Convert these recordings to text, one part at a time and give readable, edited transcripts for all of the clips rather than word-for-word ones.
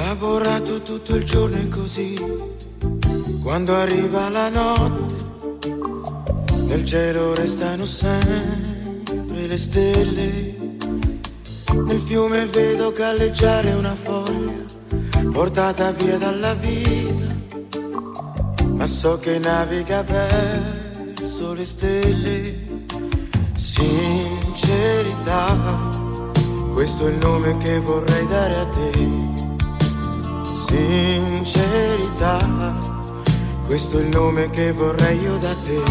lavorato tutto il giorno e così, quando arriva la notte, nel cielo restano sempre le stelle. Nel fiume vedo galleggiare una foglia, portata via dalla vita, ma so che naviga verso le stelle. Sincerità, questo è il nome che vorrei dare a te. Sincerità, questo è il nome che vorrei io da te.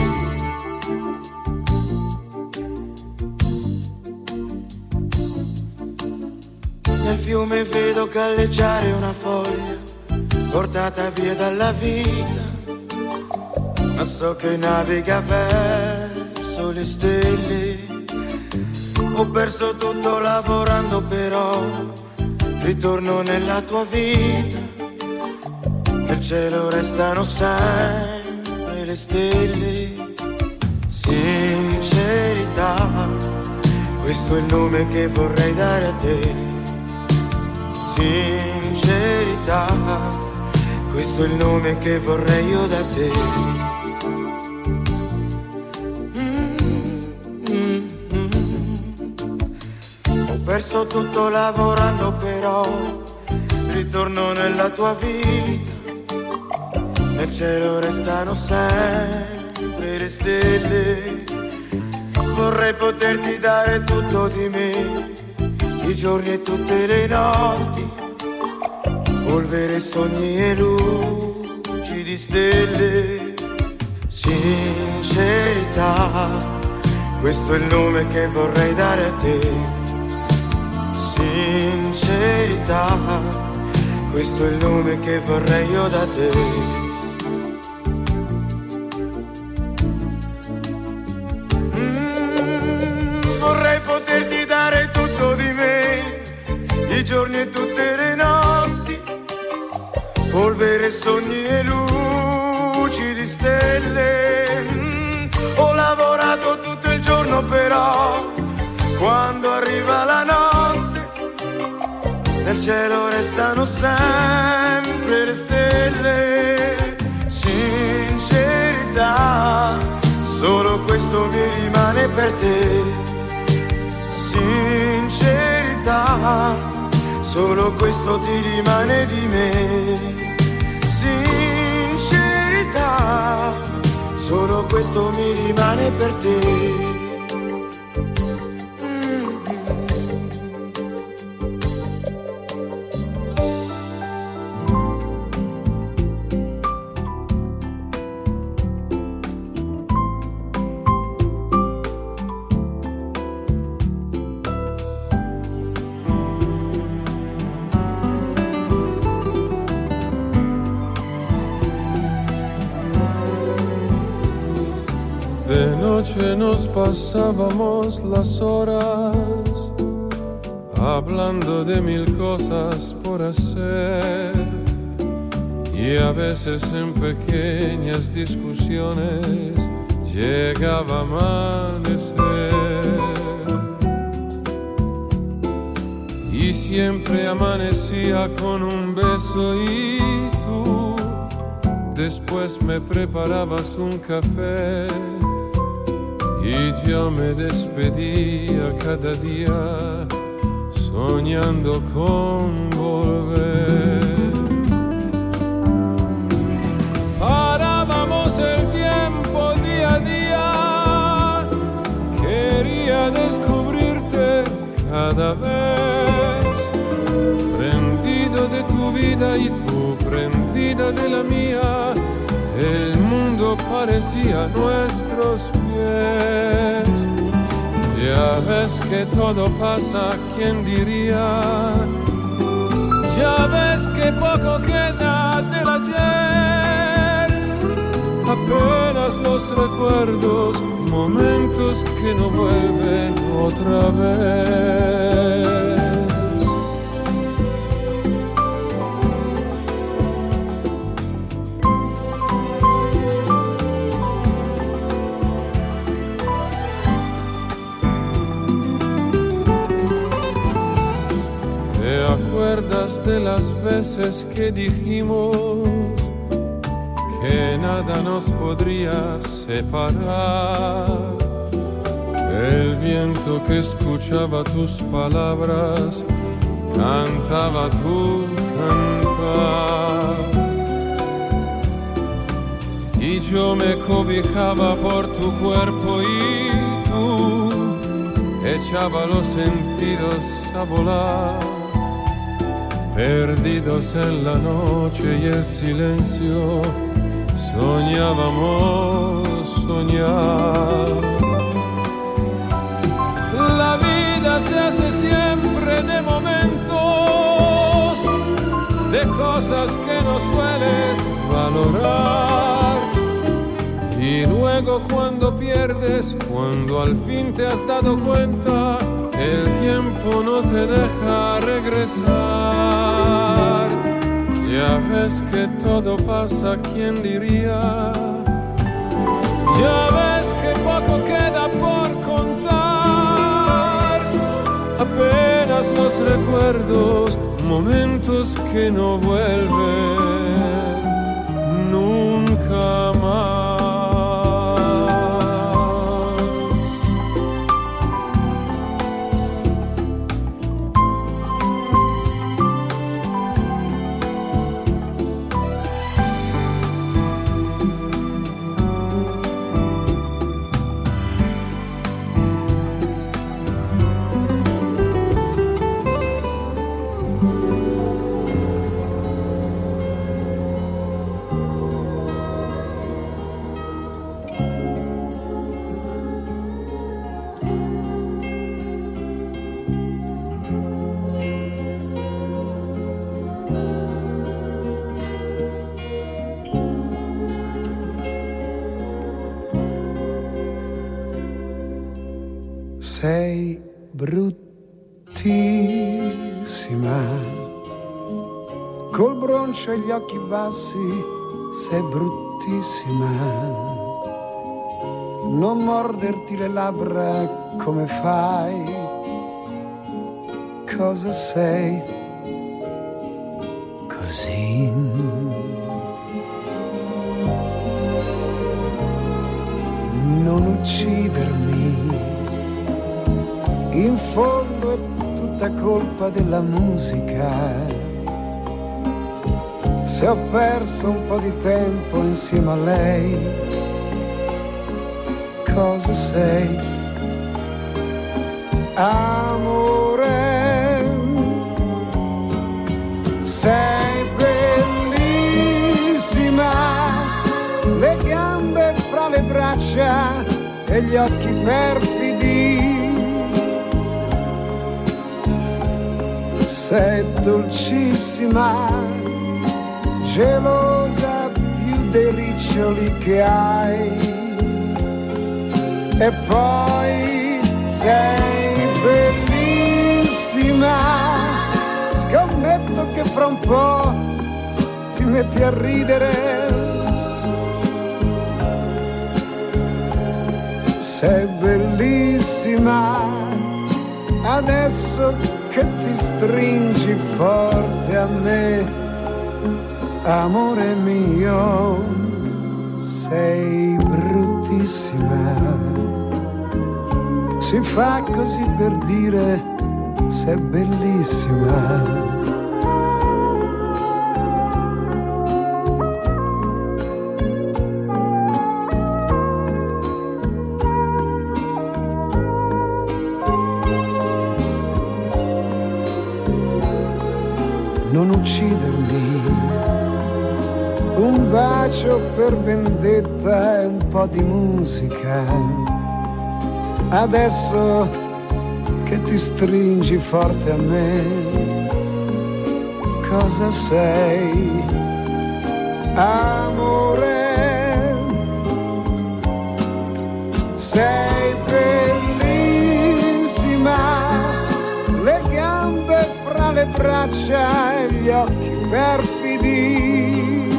Nel fiume vedo galleggiare una foglia, portata via dalla vita, ma so che naviga verso le stelle. Ho perso tutto lavorando però ritorno nella tua vita, nel cielo restano sempre le stelle. Sincerità, questo è il nome che vorrei dare a te. Sincerità, questo è il nome che vorrei io da te. Ho perso tutto lavorando però ritorno nella tua vita, nel cielo restano sempre le stelle. Vorrei poterti dare tutto di me, i giorni e tutte le notti, polvere, sogni e luci di stelle. Sincerità, questo è il nome che vorrei dare a te. Sincerità, questo è il nome che vorrei io da te. Vorrei poterti dare tutto di me, i giorni e tutte le notti, polvere, sogni e luci di stelle. Ho lavorato tutto il giorno però quando arriva la notte, nel cielo restano sempre le stelle. Sincerità, solo questo mi rimane per te. Sincerità, solo questo ti rimane di me. Sincerità, solo questo mi rimane per te. De noche nos pasábamos las horas hablando de mil cosas por hacer, y a veces en pequeñas discusiones llegaba a amanecer, y siempre amanecía con un beso y tú después me preparabas un café. Y yo me despedía cada día soñando con volver. Parábamos el tiempo día a día, quería descubrirte cada vez, prendido de tu vida y tú prendida de la mía. El mundo parecía a nuestros pies. Ya ves que todo pasa, ¿quién diría? Ya ves que poco queda del ayer. Apenas los recuerdos, momentos que no vuelven otra vez. acuerdas de las veces que dijimos que nada nos podría separar? El viento que escuchaba tus palabras cantaba tu cantar, y yo me cobijaba por tu cuerpo y tú echaba los sentidos a volar, perdidos en la noche y el silencio, soñábamos soñar. La vida se hace siempre de momentos, de cosas que no sueles valorar, y luego cuando pierdes, cuando al fin te has dado cuenta, el tiempo no te deja regresar. Ya ves que todo pasa, ¿quién diría? Ya ves que poco queda por contar, apenas los recuerdos, momentos que no vuelven nunca más. Sei bruttissima, col broncio e gli occhi bassi, sei bruttissima. Non morderti le labbra come fai, cosa sei così? Non uccidermi, in fondo è tutta colpa della musica. Se ho perso un po' di tempo insieme a lei, cosa sei? Amore, sei bellissima, le gambe fra le braccia e gli occhi perfidi. Sei dolcissima, gelosa più dei riccioli che hai. E poi sei bellissima, scommetto che fra un po' ti metti a ridere. Sei bellissima, adesso che ti stringi forte a me, amore mio, sei bruttissima. Si fa così per dire sei bellissima. Non uccidermi, un bacio per vendetta e un po' di musica. Adesso che ti stringi forte a me, cosa sei? Amore, sei bellissima, le gambe fra le braccia e gli occhi perfidi.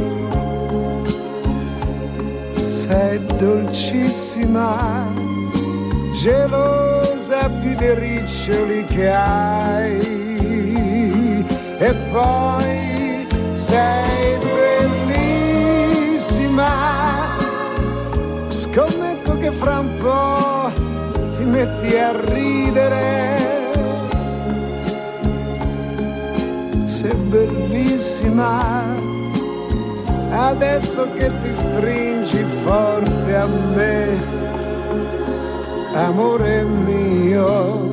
Sei dolcissima, gelosa più dei riccioli che hai. e poi sei bellissima. Scommetto che fra un po' ti metti a ridere. Sei bellissima, adesso che ti stringi forte a me, amore mio.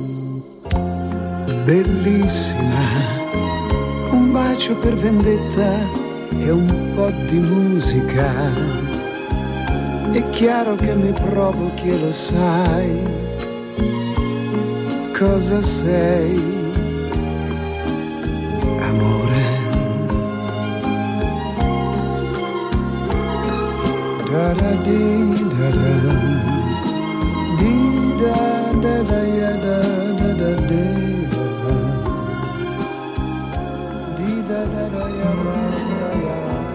Bellissima, un bacio per vendetta e un po' di musica. È chiaro che mi provochi e lo sai. Cosa sei? Amore. Da da di da da di da da da ya da da da di da da da ya da ya.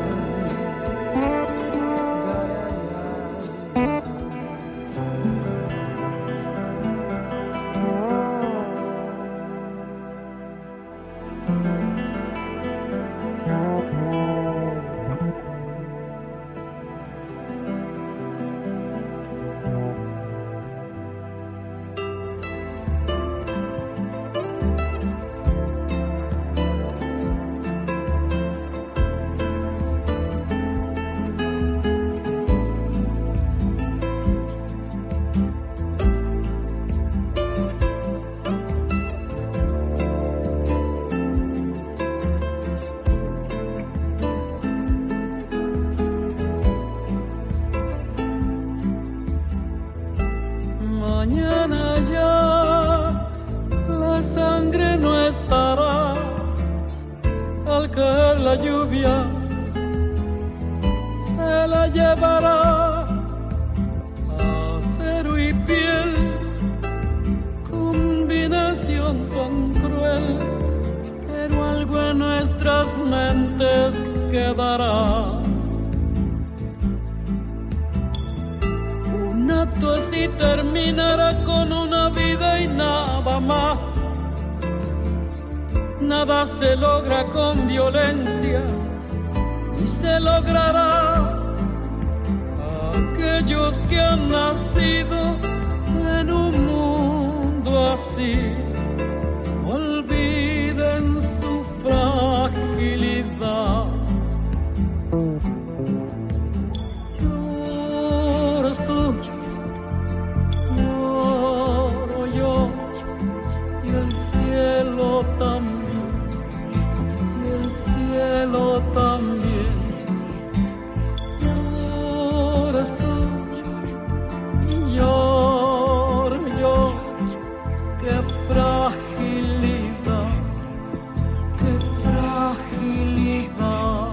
Nada se logra con violencia y se logrará. Aquellos que han nacido en un mundo así olviden su fragilidad. Lloras tú, lloro yo y el cielo también. Cielo también. Lloras tú y lloro yo. Qué fragilidad, qué fragilidad.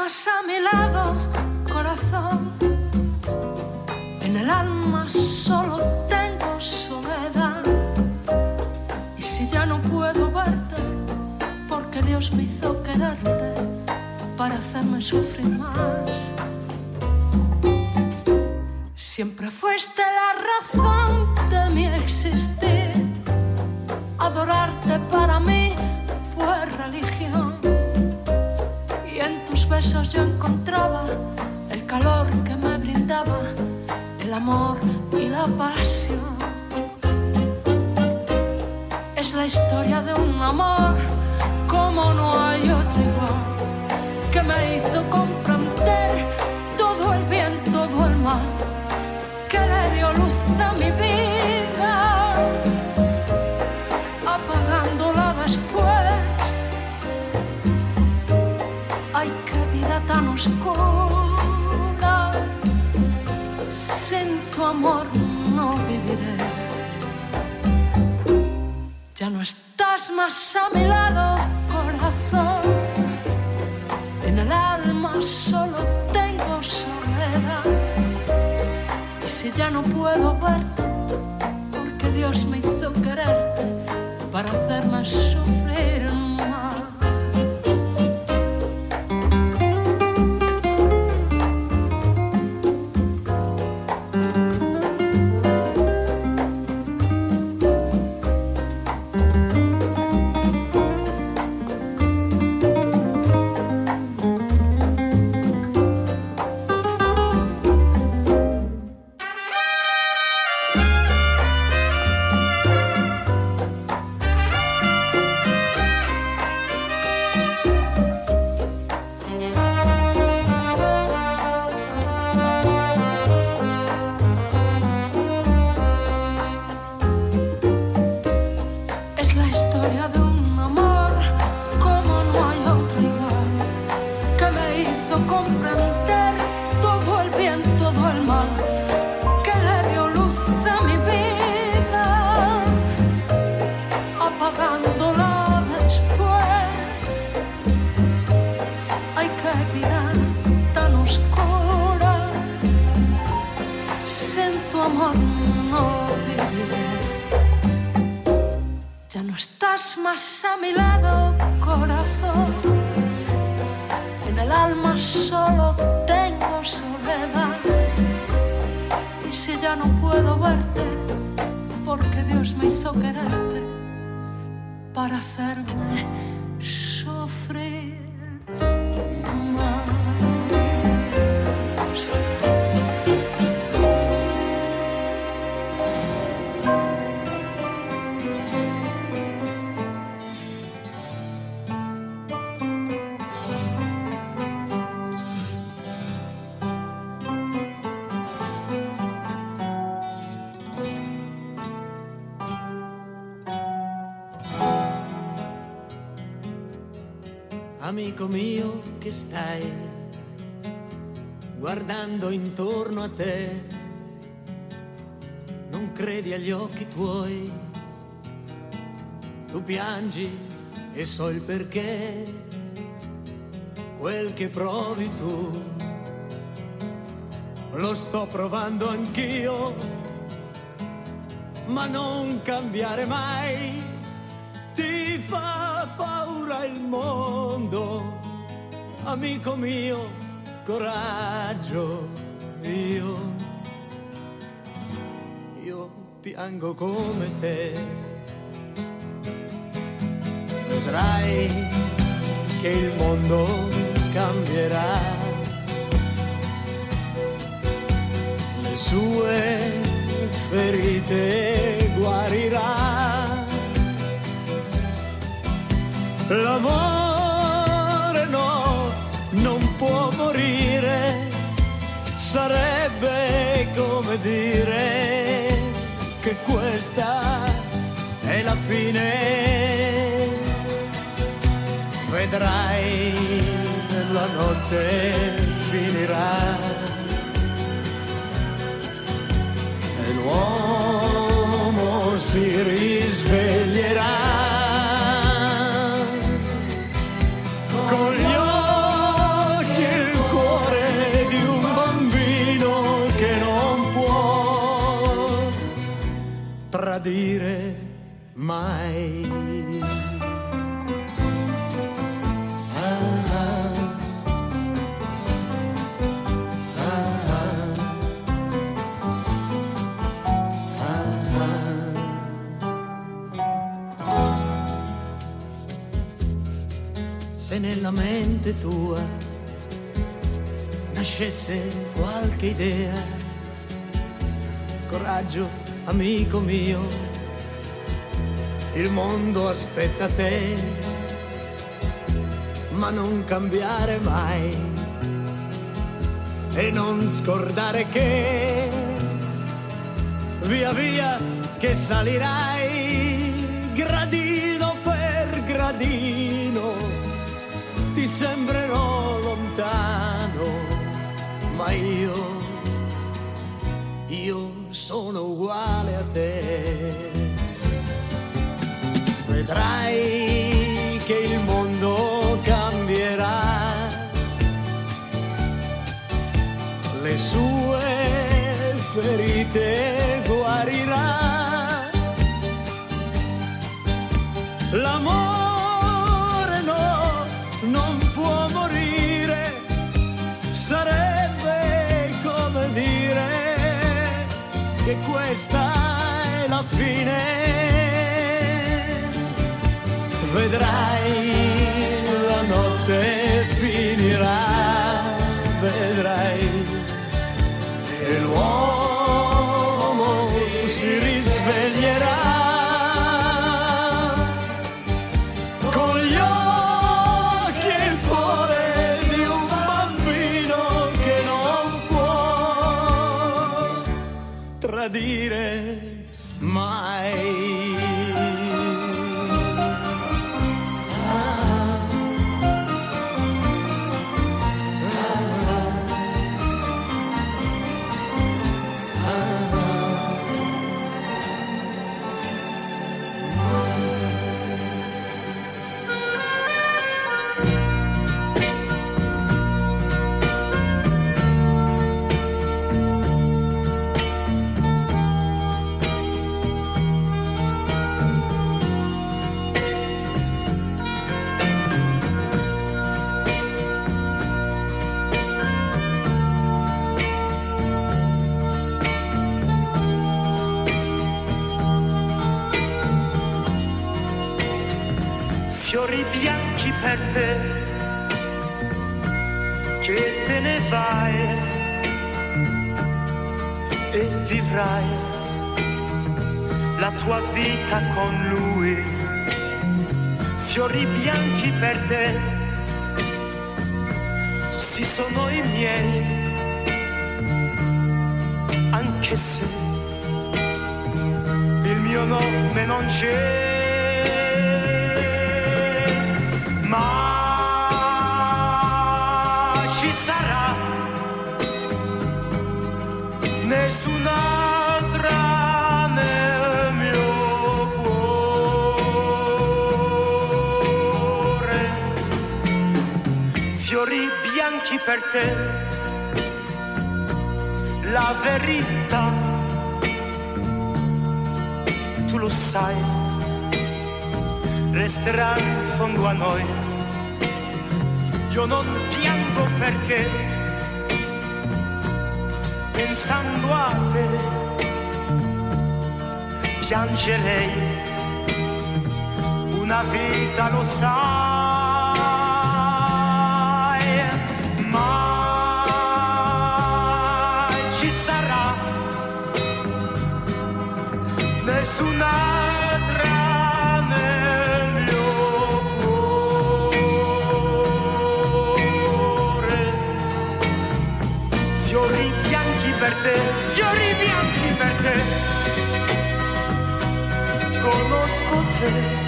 más a mi lado, corazón. En el alma solo tengo soledad. Y si ya no puedo verte, porque Dios me hizo quererte para hacerme sufrir más. Siempre fuiste la razón de mi existir. Adorarte para mí fue religión. Y en tus besos yo encontraba el calor que me brindaba el amor y la pasión. Es la historia de un amor como no hay otro igual, que me hizo comprender todo el bien, todo el mal, que le dio luz a mi vida, apagándola después. Ay, qué vida tan oscura, sin tu amor no viviré. Ya no estás más a mi lado, corazón. En el alma solo tengo soledad. Y si ya no puedo verte, porque Dios me hizo quererte para hacerme sufrir más. Más a mi lado, corazón. En el alma solo tengo soledad. Y si ya no puedo verte, porque Dios me hizo quererte para hacerme sufrir más. Amico mio che stai guardando intorno a te, non credi agli occhi tuoi, tu piangi e so il perché, quel che provi tu lo sto provando anch'io, ma non cambiare mai. Ti fa paura il mondo, amico mio, coraggio, io piango come te. Vedrai che il mondo cambierà, le sue ferite guarirà. L'amore no, non può morire, sarebbe come dire che questa è la fine. Vedrai, la notte finirà e l'uomo si risveglierà. Con gli occhi tradire mai. Se nella mente tua nascesse qualche idea, coraggio, amico mio, il mondo aspetta te, ma non cambiare mai e non scordare che via via che salirai gradino per gradino ti sembrerò lontano, ma io sono uguale a te. Vedrai che il mondo cambierà, le sue ferite guarirà, l'amore no, non può morire, sarebbe come dire che questa è la fine. Vedrai la notte finirà, vedrai e l'uomo si risveglierà con gli occhi e il cuore di un bambino che non può tradire mai. Fiori bianchi per te, che te ne vai e vivrai la tua vita con lui. Fiori bianchi per te, sì sono i miei, anche se il mio nome non c'è. Ma ci sarà nessun'altra nel mio cuore. Fiori bianchi per te, la verità tu lo sai, resterà in fondo a noi. Io non piango perché pensando a te piangerei una vita, lo sai, ma ci sarà nessun'altra nel mio cuore. Fiori bianchi per te, fiori bianchi per te, conosco te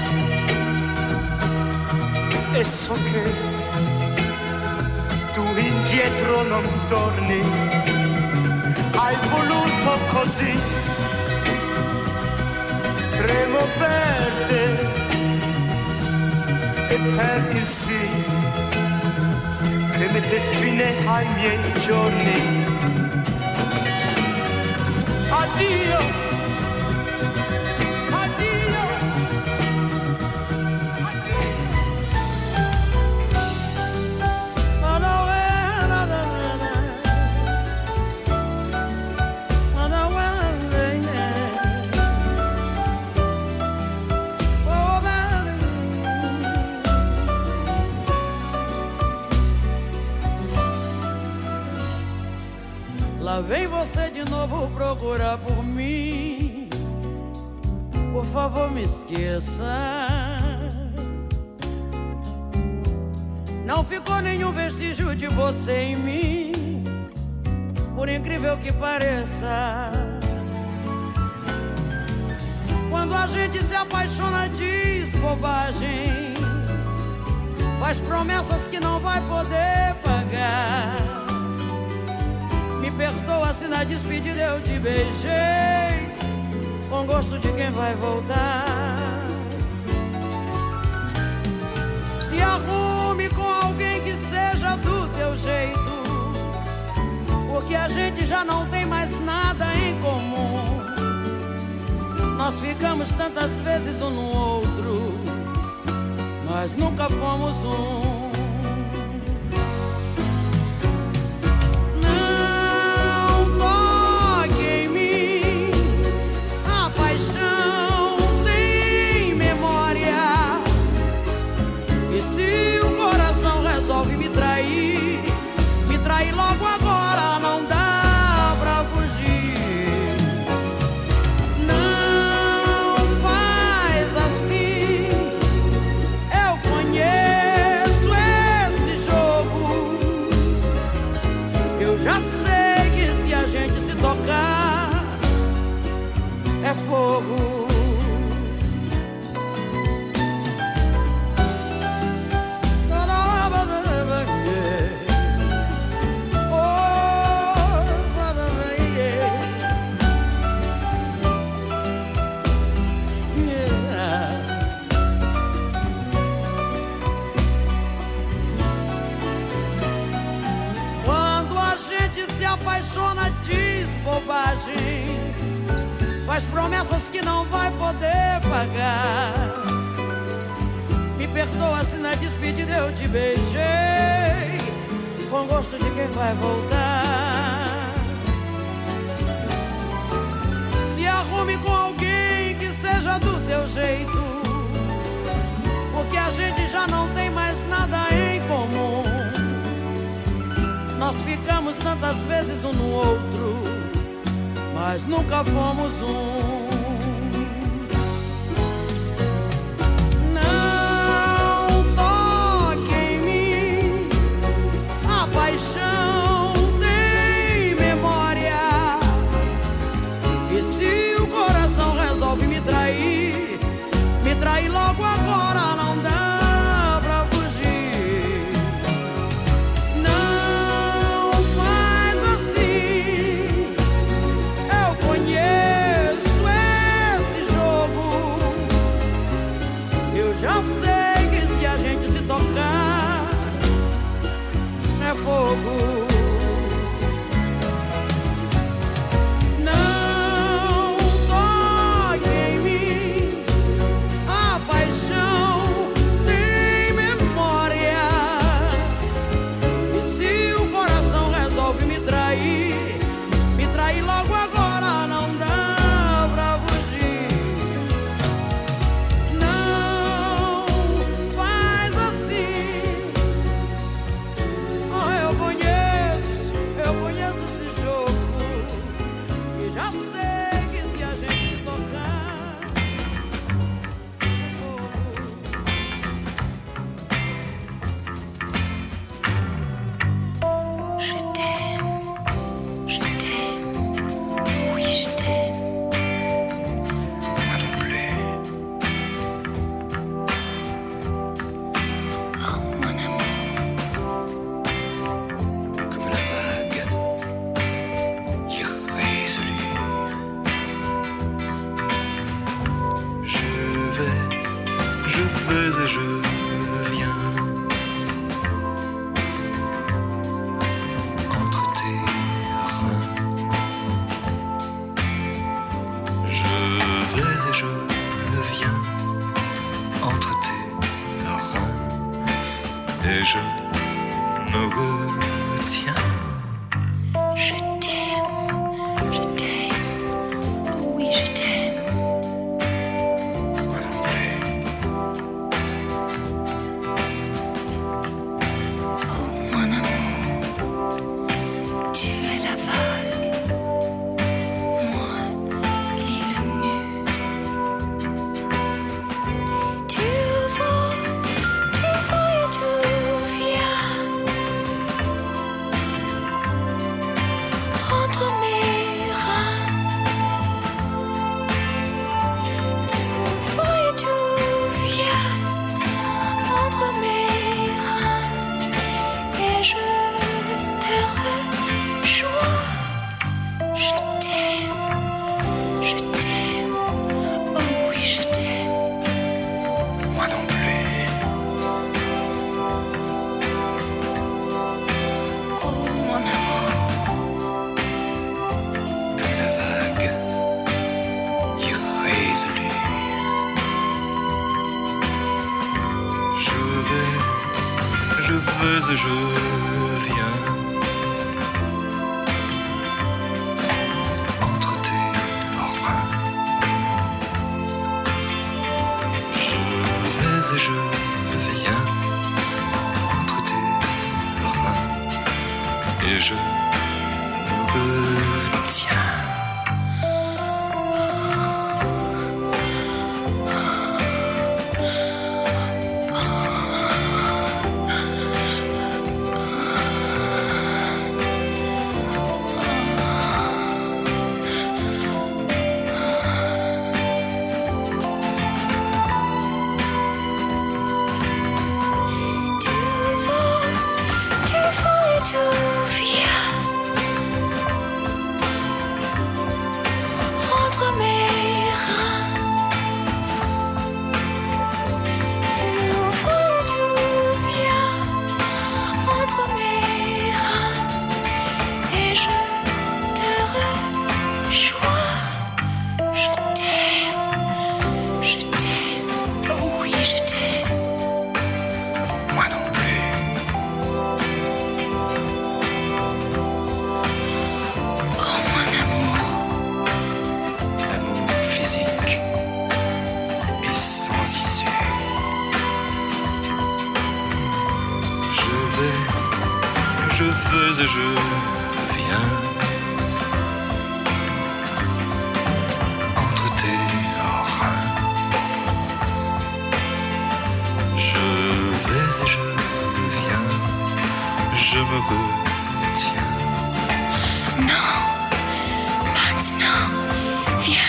e so che tu indietro non torni, hai voluto così, tremo per te e per il sì che mette fine ai miei giorni. Addio, Lá vem você de novo procurar por mim. Por favor, me esqueça. Não ficou nenhum vestígio de você em mim, por incrível que pareça. Quando a gente se apaixona, diz bobagem, faz promessas que não vai poder pagar. Me perdoa se na despedida eu te beijei com gosto de quem vai voltar. Se arrume com alguém que seja do teu jeito, porque a gente já não tem mais nada em comum. Nós ficamos tantas vezes um no outro, nós nunca fomos um. Logo agora não dá pra fugir. Não faz assim. Eu conheço esse jogo. Eu já sei que se a gente se tocar é fogo. Apaixona, diz bobagem, faz promessas que não vai poder pagar. Me perdoa se na despedida eu te beijei com gosto de quem vai voltar. Se arrume com alguém que seja do teu jeito, porque a gente já não tem mais nada em comum. Nós ficamos tantas vezes um no outro, mas nunca fomos um. Não toque em mim, a paixão tem memória. E se o coração resolve me trair logo agora não dá. Já sei que se a gente se tocar é fogo. Não toque em mim, a paixão tem memória. E se o coração resolve me trair logo agora não dá pra fugir. Tu es la vague vais et je viens entre tes reins. Je vais et je viens entre tes reins et je me retiens. Et je viens entre tes reins. Je vais et je viens, je me retiens. Non, maintenant, viens.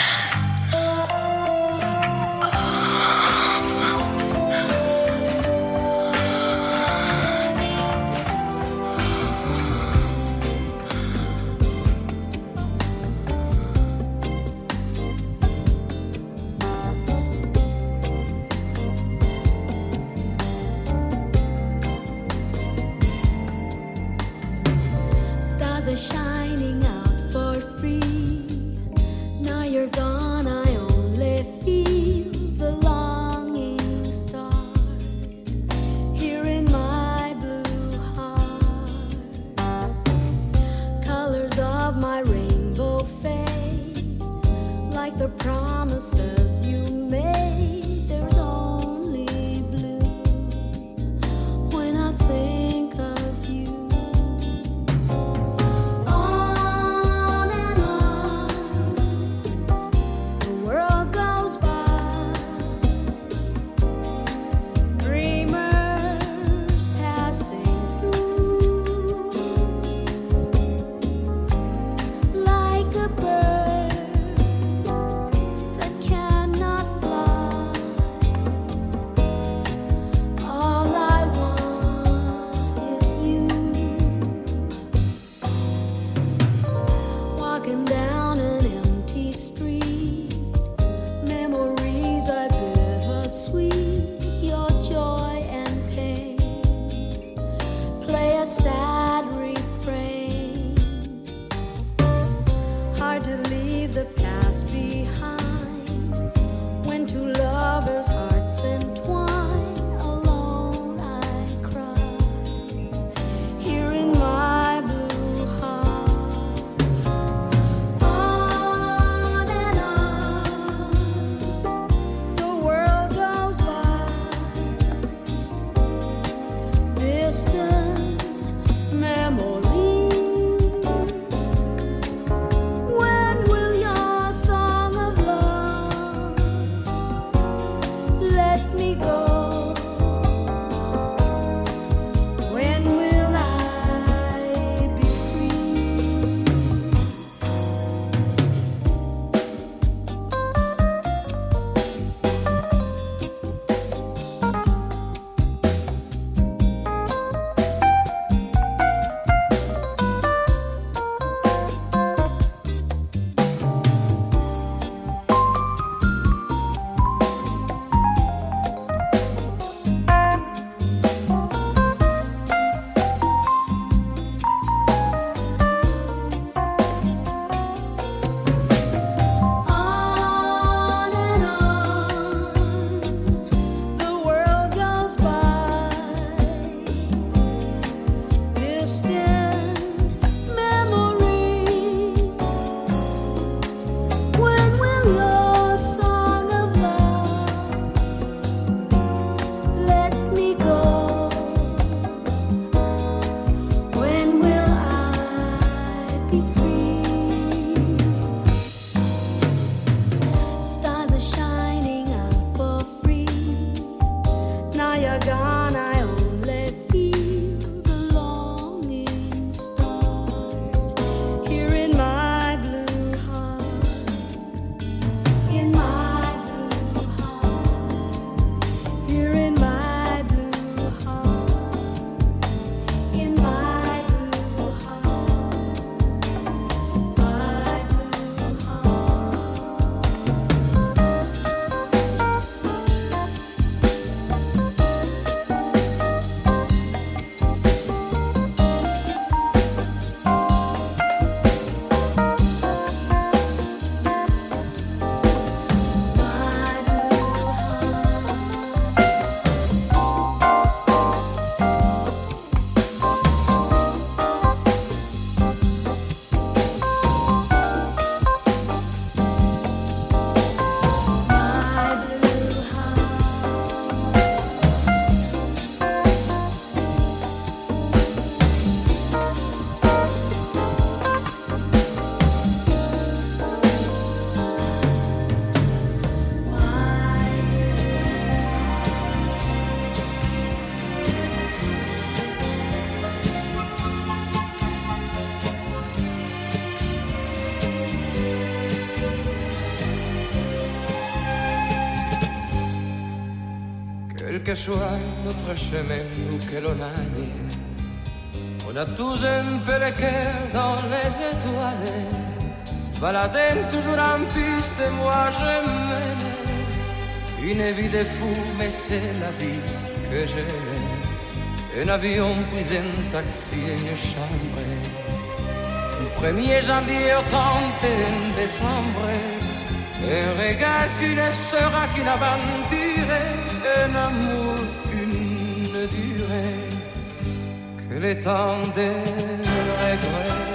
que soit notre chemin où que l'on aille, on a tous un peu le cœur dans les étoiles, baladant toujours en piste, moi je mène une vie de fou, mais c'est la vie que j'aime. Un avion, puis un taxi et une chambre, du 1er janvier au 31 décembre, un regard qui ne sera qu'une aventure, un amour qu'une durée, que le temps des regrets.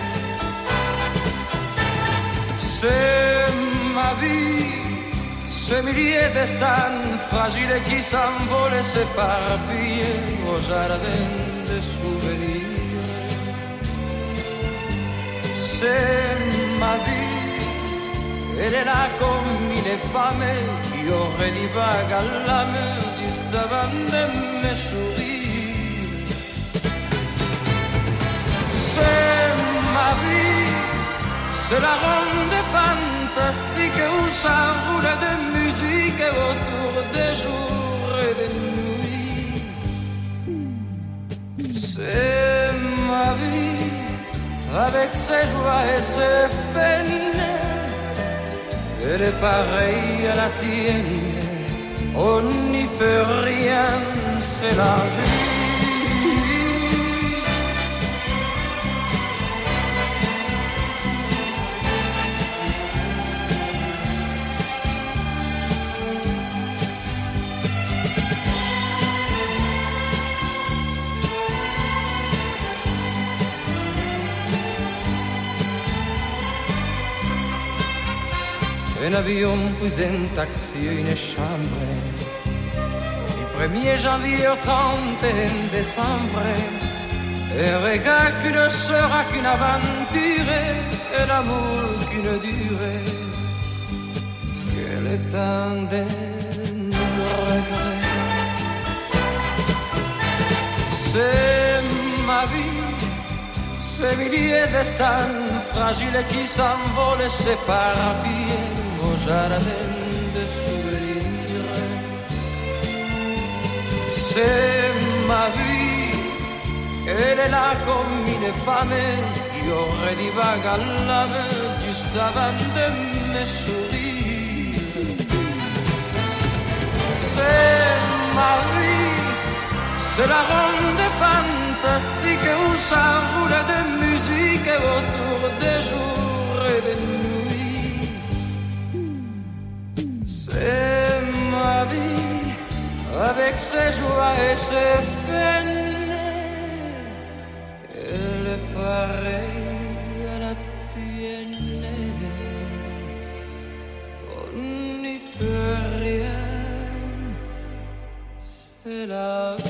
C'est ma vie, ce millier destins fragiles qui s'envolent et s'éparpillent au jardin de souvenirs. C'est ma vie, elle est là comme une femme qui aurait des vagues à l'âme juste avant de me sourire. C'est ma vie, c'est la ronde fantastique où s'enroule de musique autour des jours et des nuits. C'est ma vie, avec ses joies et ses peines, elle est pareille à la tienne, on n'y peut rien, c'est la vie. Un avion, puis un taxi, une chambre, du 1er janvier au 31 décembre, un regard qui ne sera qu'une aventure, un amour qu'une durée, que le temps des regrets. C'est ma vie, ces milliers destins fragiles qui s'envolent et s'éparpillent au jardin de souvenirs. C'est ma vie, elle est là comme une femme qui aurait des vagues à l'âme juste avant de me sourire. C'est ma vie, c'est la ronde fantastique où s'enroule de musique autour des jours et des nuits. C'est ma vie, avec ses joies et ses peines, elle est pareille à la tienne, on n'y peut rien, c'est la vie.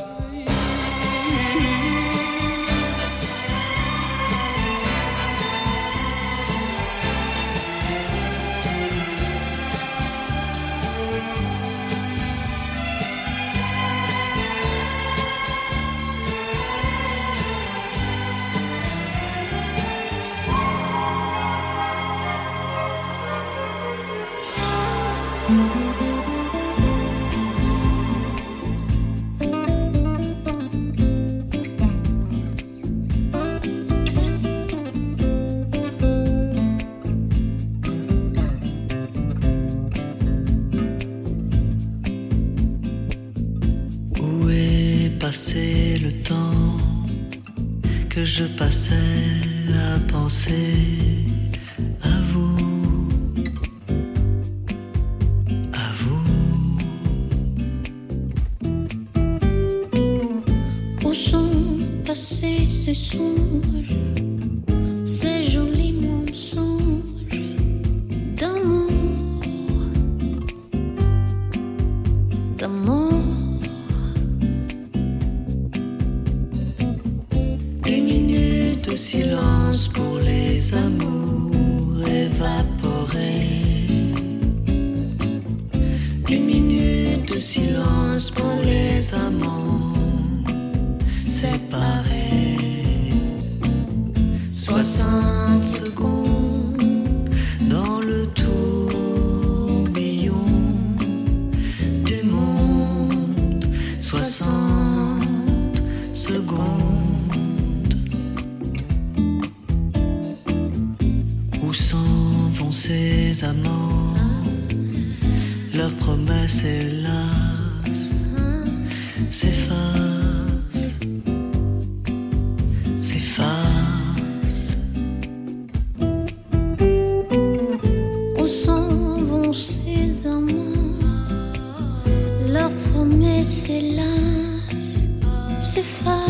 Passé le temps que je passais à penser à vous, à vous. Où sont passés ces songes, ces jolis mensonges d'amour, d'amour? Silence pour les amours évaporés. Une minute de silence pour les amants séparés. 60 secondes dans le tourbillon du monde promesse hélas s'efface. Où s'en vont ces amants? Leurs promesses hélas s'effacent.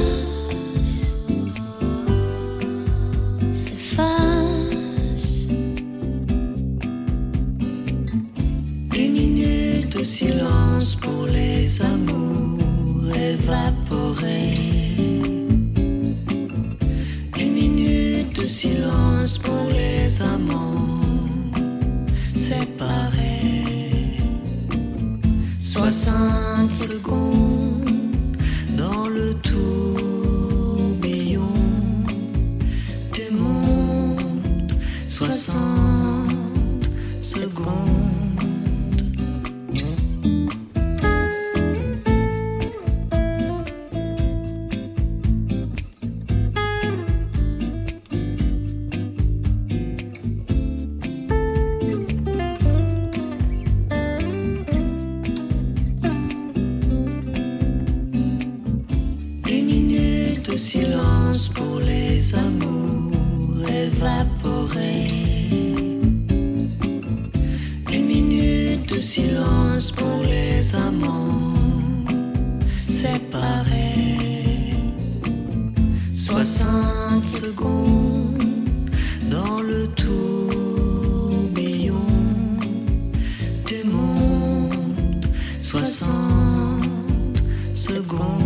De silence pour les amours évaporés. Une minute de silence pour les amants séparés. 60 secondes dans le tourbillon du monde. 60 secondes. Silence pour les amours évaporés. Une minute de silence pour les amants séparés. 60 secondes dans le tourbillon du monde. 60 secondes.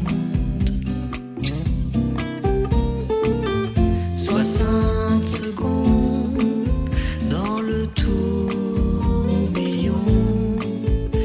60 secondes dans le tourbillon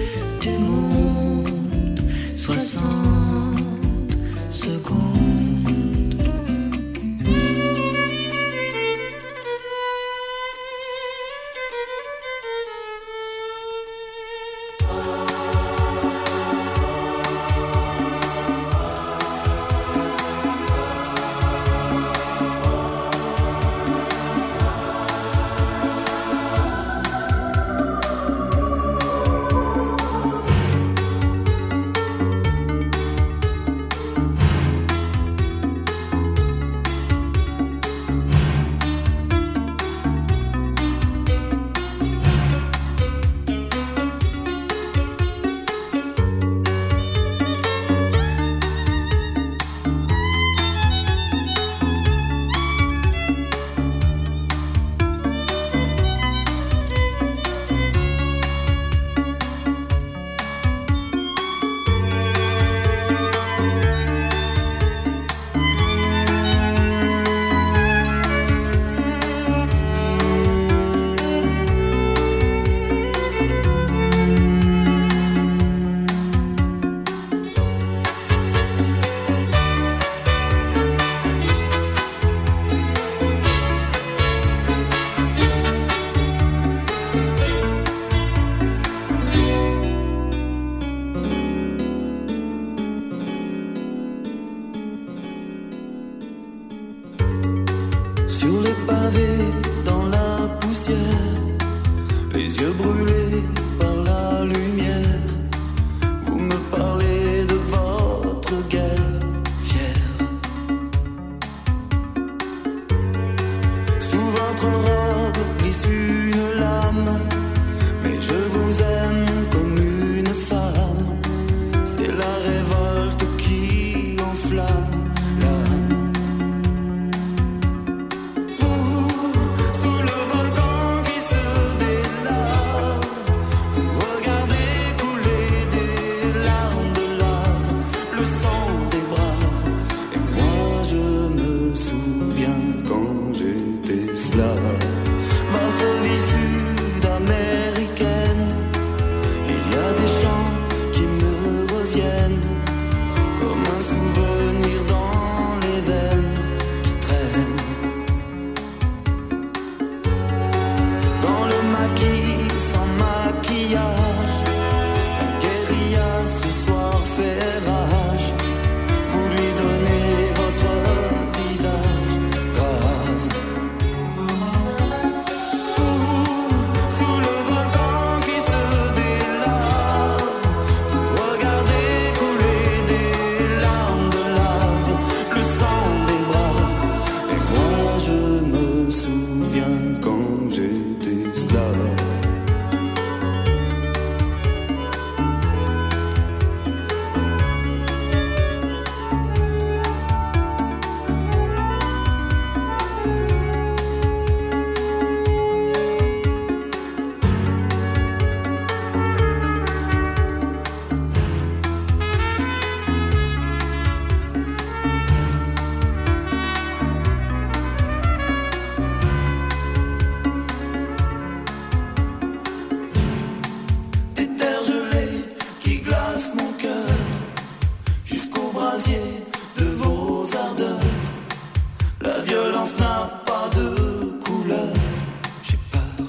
brasier de vos ardeurs. La violence n'a pas de couleur. J'ai peur.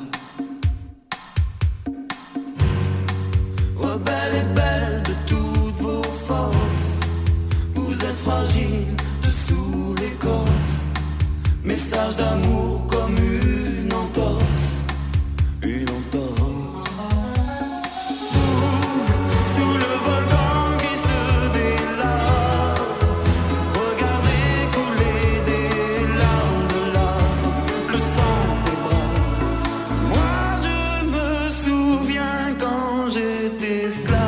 Rebelle et belle de toutes vos forces, vous êtes fragile dessous l'écorce. Message d'amour comme une entorse, une entorse. Sous le volcan qui se délabre, regardez couler des larmes de lave, le sang des braves. Moi je me souviens quand j'étais esclave.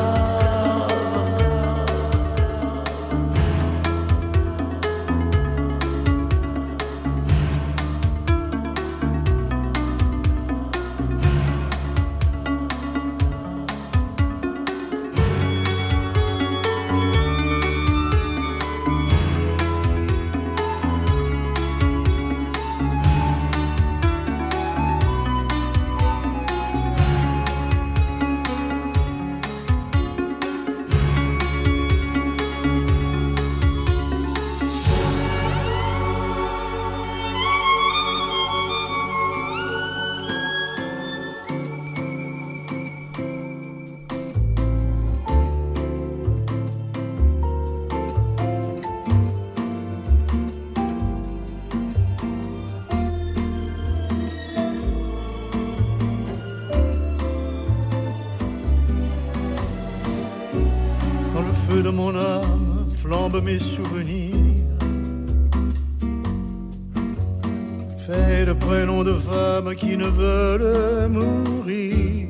De mon âme flambent mes souvenirs, faits de prénoms de femmes qui ne veulent mourir,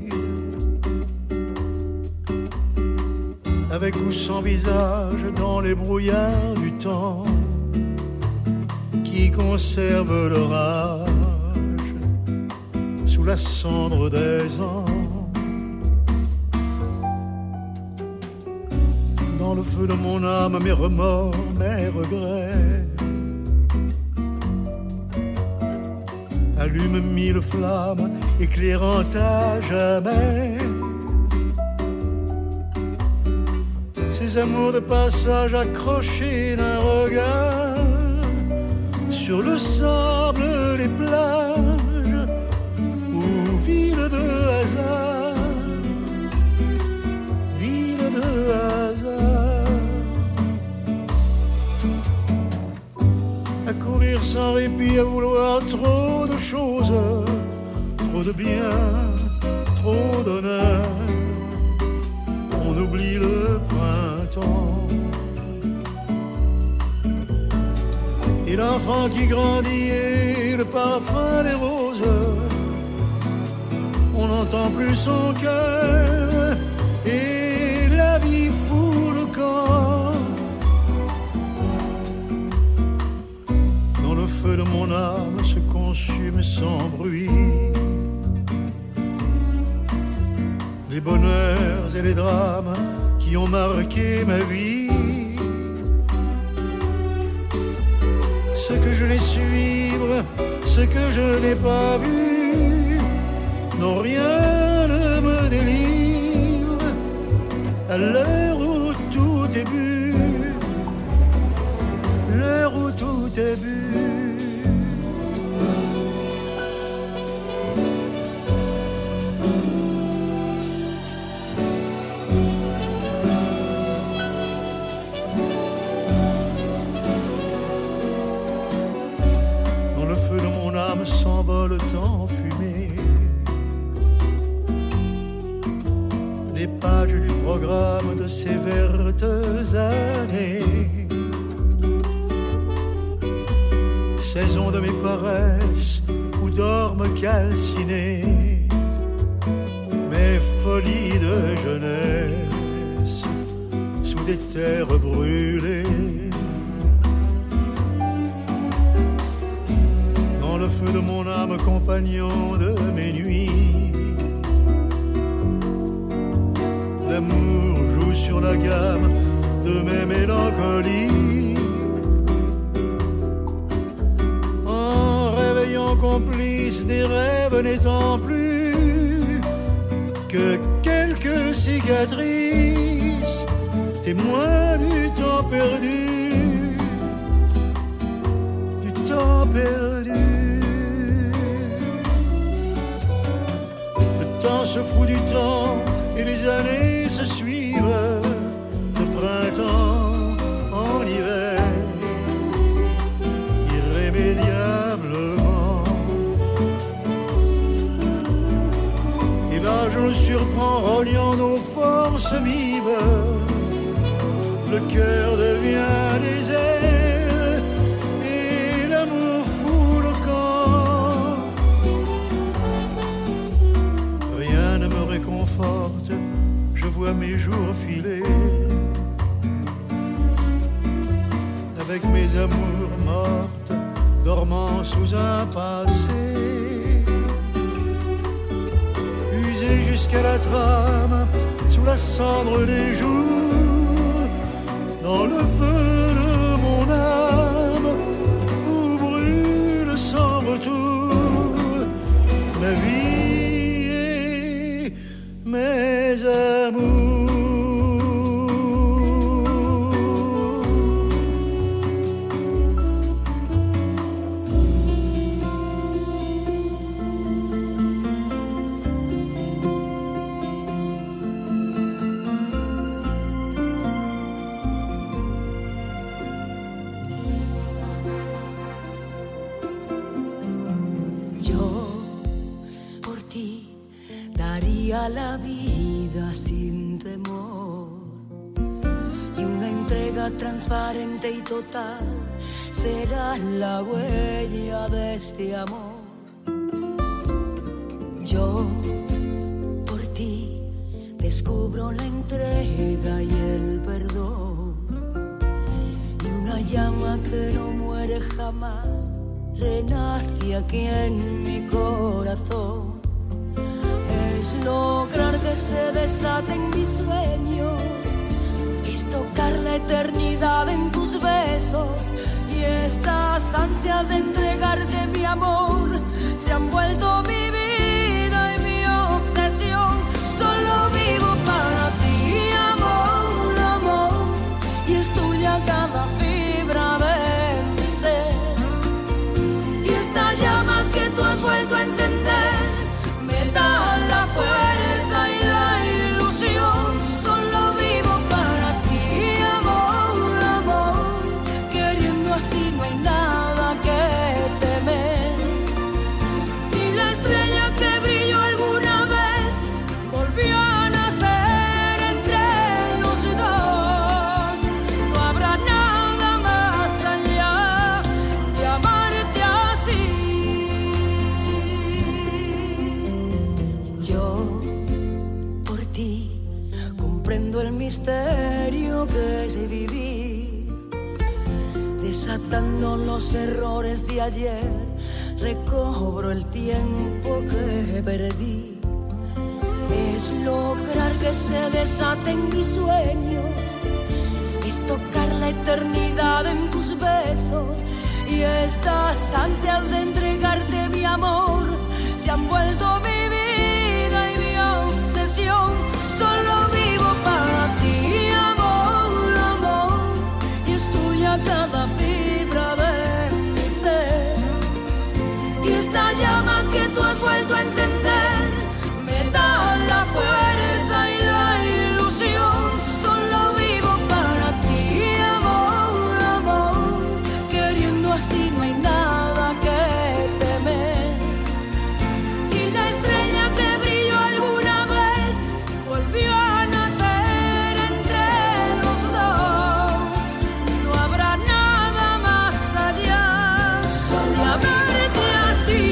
avec ou sans visage dans les brouillards du temps, qui conservent leur âge sous la cendre des ans. Dans le feu de mon âme, mes remords, mes regrets, allume mille flammes, éclairant à jamais ces amours de passage accrochés d'un regard sur le sable des plages ou ville de hasard, ville de hasard. À courir sans répit, à vouloir trop de choses, trop de bien, trop d'honneur. On oublie le printemps et l'enfant qui grandit et le parfum des roses. On n'entend plus son cœur et la vie fout le camp. Dans le feu de mon âme se consume sans bruit les bonheurs et les drames qui ont marqué ma vie. Ce que je n'ai suivre, ce que je n'ai pas vu, non rien ne me délivre à l'heure où tout est bu, l'heure où tout est bu. S'envole en fumée les pages du programme de ces vertes années, saison de mes paresses où dorment calcinés mes folies de jeunesse sous des terres brûlées. Le feu de mon âme, compagnon de mes nuits, l'amour joue sur la gamme de mes mélancolies, en réveillant complice des rêves n'étant plus que quelques cicatrices, témoins du temps perdu, du temps perdu. Le temps se fout du temps et les années se suivent, de printemps en hiver, irrémédiablement. Et l'âge nous surprend, rognant nos forces vives. Le cœur devient désert et l'amour fout le camp. Rien ne me réconforte, je vois mes jours filer avec mes amours mortes, dormant sous un passé usé jusqu'à la trame, sous la cendre des jours, dans le feu de mon âme, où brûle sans retour ma vie et mes amours. La vida sin temor y una entrega transparente y total será la huella de este amor. Yo por ti descubro la entrega y el perdón y una llama que no muere jamás renace aquí en mi corazón. Es lograr que se desaten mis sueños, es tocar la eternidad en tus besos y estas ansias de entregarte mi amor se han vuelto mi vida y mi obsesión. Solo vivo para ti, amor, amor, y es tuya cada fibra de mi ser. Y esta llama que tú has vuelto a encender me da la fuerza y la ilusión. Solo vivo para ti, amor, amor, queriendo así no hay nada que temer. Y la estrella que brilló alguna vez volvió a nacer entre los dos. No habrá nada más allá de amarte así. Yo por ti comprendo el misterio que es vivir, desatando los errores de ayer, recobro el tiempo que perdí. Es lograr que se desaten mis sueños, es tocar la eternidad en tus besos y estas ansias de entregarte mi amor se han vuelto mi vida y mi obsesión. Solo vivo para ti, amor, amor, y es tuya cada fibra de mi ser. Y esta llama que tú has vuelto a encender me da la fuerza y la ilusión. Solo vivo para ti, amor, amor, queriendo así no hay nada que temer. Y la estrella que brilló alguna vez volvió a nacer entre los dos. No habrá nada más allá de amarte así.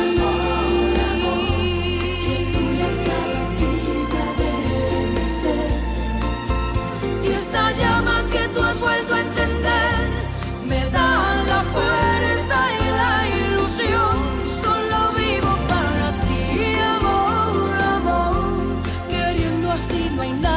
Es tuya cada fibra de mi ser. Y esta llama que tú has vuelto a encender me da la fuerza y la ilusión. Solo vivo para ti, amor, amor, queriendo así no hay nada